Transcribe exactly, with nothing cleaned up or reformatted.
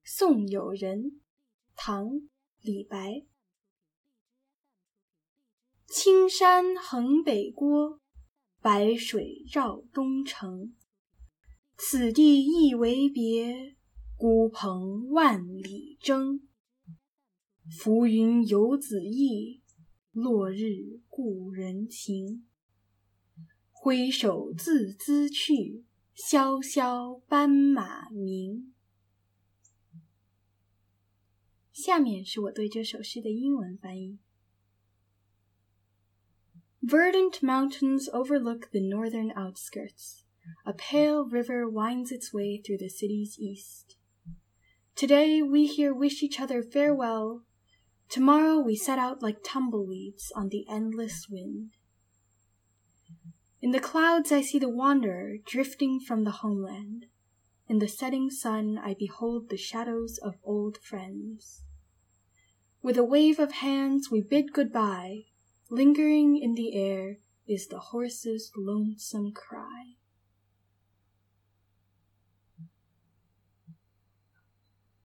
送友人，唐·李白。青山横北郭，白水绕东城。此地一为别，孤蓬万里征。浮云游子意，落日故人情。挥手自兹去，萧萧斑马鸣。下面是我对这首诗的英文翻译。Verdant mountains overlook the northern outskirts. A pale river winds its way through the city's east. Today we here wish each other farewell. Tomorrow we set out like tumbleweeds on the endless wind. In the clouds I see the wanderer drifting from the homeland. In the setting sun I behold the shadows of old friends. With a wave of hands we bid goodbye. Lingering in the air is the horse's lonesome cry.